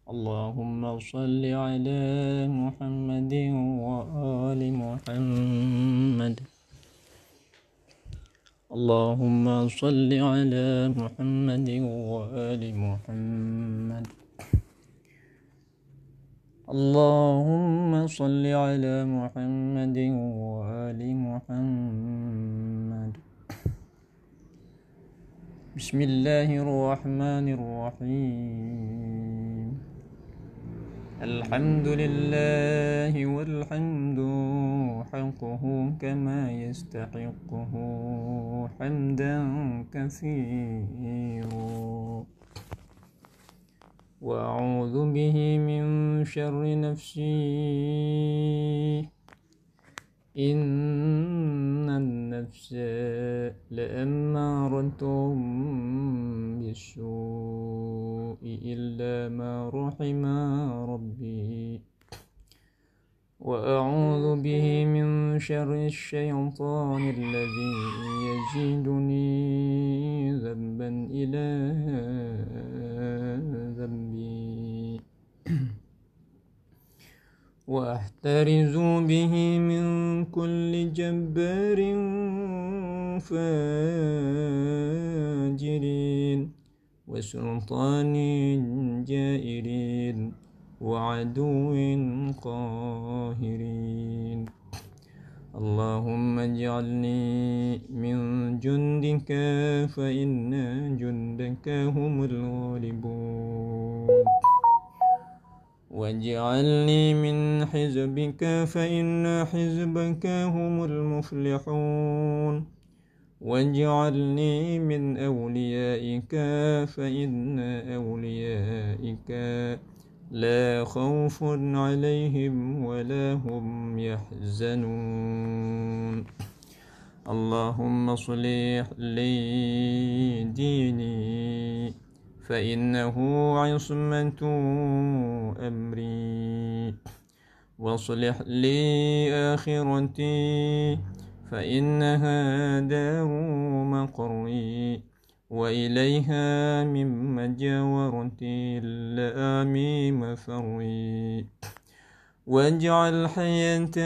اللهم صل على محمد وآل محمد. اللهم صل على محمد وآل محمد. اللهم صل على محمد وآل محمد. بسم الله الرحمن الرحيم. الحمد لله والحمد حقه كما يستحقه حمدا كثيرا. وأعوذ به من شر نفسي إن النفس لأمارة بالسوء إلا ما رحم ربي. وأعوذ به من شر الشيطان الذي يزيدني ذنبا إلى ذنبي. وأحترز به من كل جبار فاجر وسلطان جائر وعدو قاهر. اللهم اجعلني من جندك فإن جندك هم الغالبون. واجعلني من حزبك فإن حزبك هم المفلحون. واجعلني من أوليائك فإن أوليائك لا خوف عليهم ولا هم يحزنون. اللهم اصلح لي ديني فإنه عصمة أمري. واصلح لي آخرتي فإنها دار مقري وإليها من مجاورتي اللآمي مفري. واجعل حياة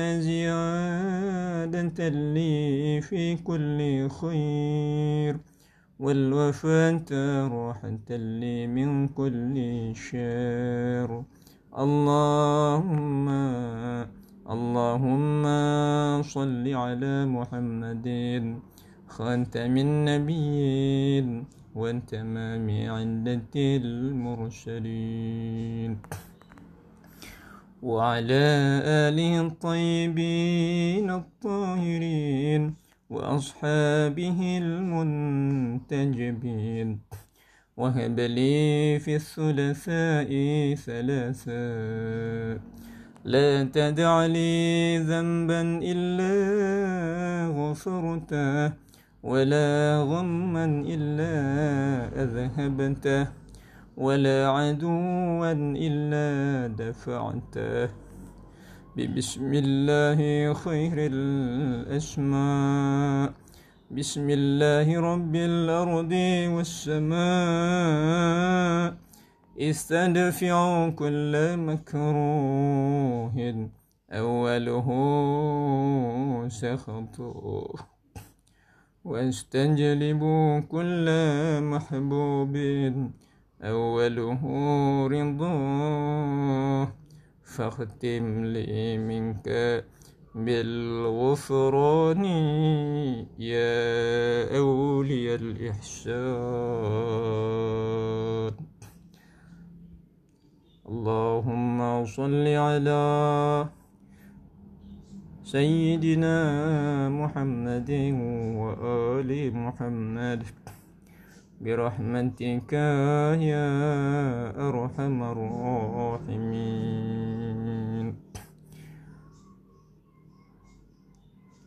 زيادة لي في كل خير والوفاة راحة لي من كل شر. اللهم صل على محمد خاتم النبيين وتمام عدة المرسلين وعلى آله الطيبين الطاهرين وأصحابه المنتجبين. وهب لي في الثلاثاء ثلاثا لا تدع لي ذنبا إلا غفرته ولا غما إلا أذهبته ولا عدوا إلا دفعته. بسم الله خير الأسماء. بسم الله رب الأرض والسماء. استدفع كل مكروه أوله سخطه واستجلب كل محبوب أوله رضاه. فاختم لي منك بالغفران يا أولي الإحسان. اللهم صل على سيدنا محمد وآل محمد برحمتك يا أرحم الراحمين.